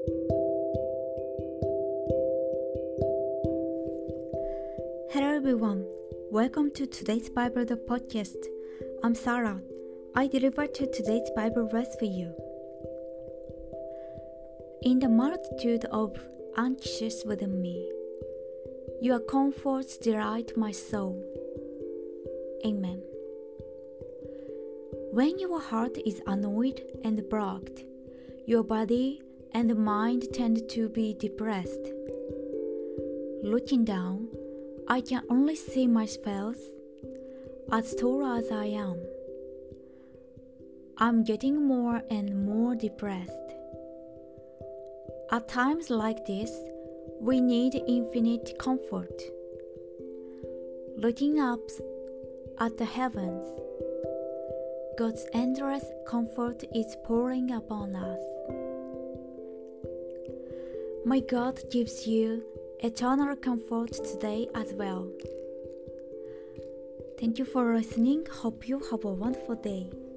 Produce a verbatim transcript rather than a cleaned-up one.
Hello everyone, welcome to today's Bible the podcast. I'm Sarah. I deliver to today's Bible verse for you. In the multitude of anxious within me, your comforts delight my soul. Amen. When your heart is annoyed and blocked, your body and mind tend to be depressed. Looking down, I can only see myself as tall as I am. I'm getting more and more depressed. At times like this, we need infinite comfort. Looking up at the heavens, God's endless comfort is pouring upon us. My God gives you eternal comfort today as well. Thank you for listening. Hope you have a wonderful day.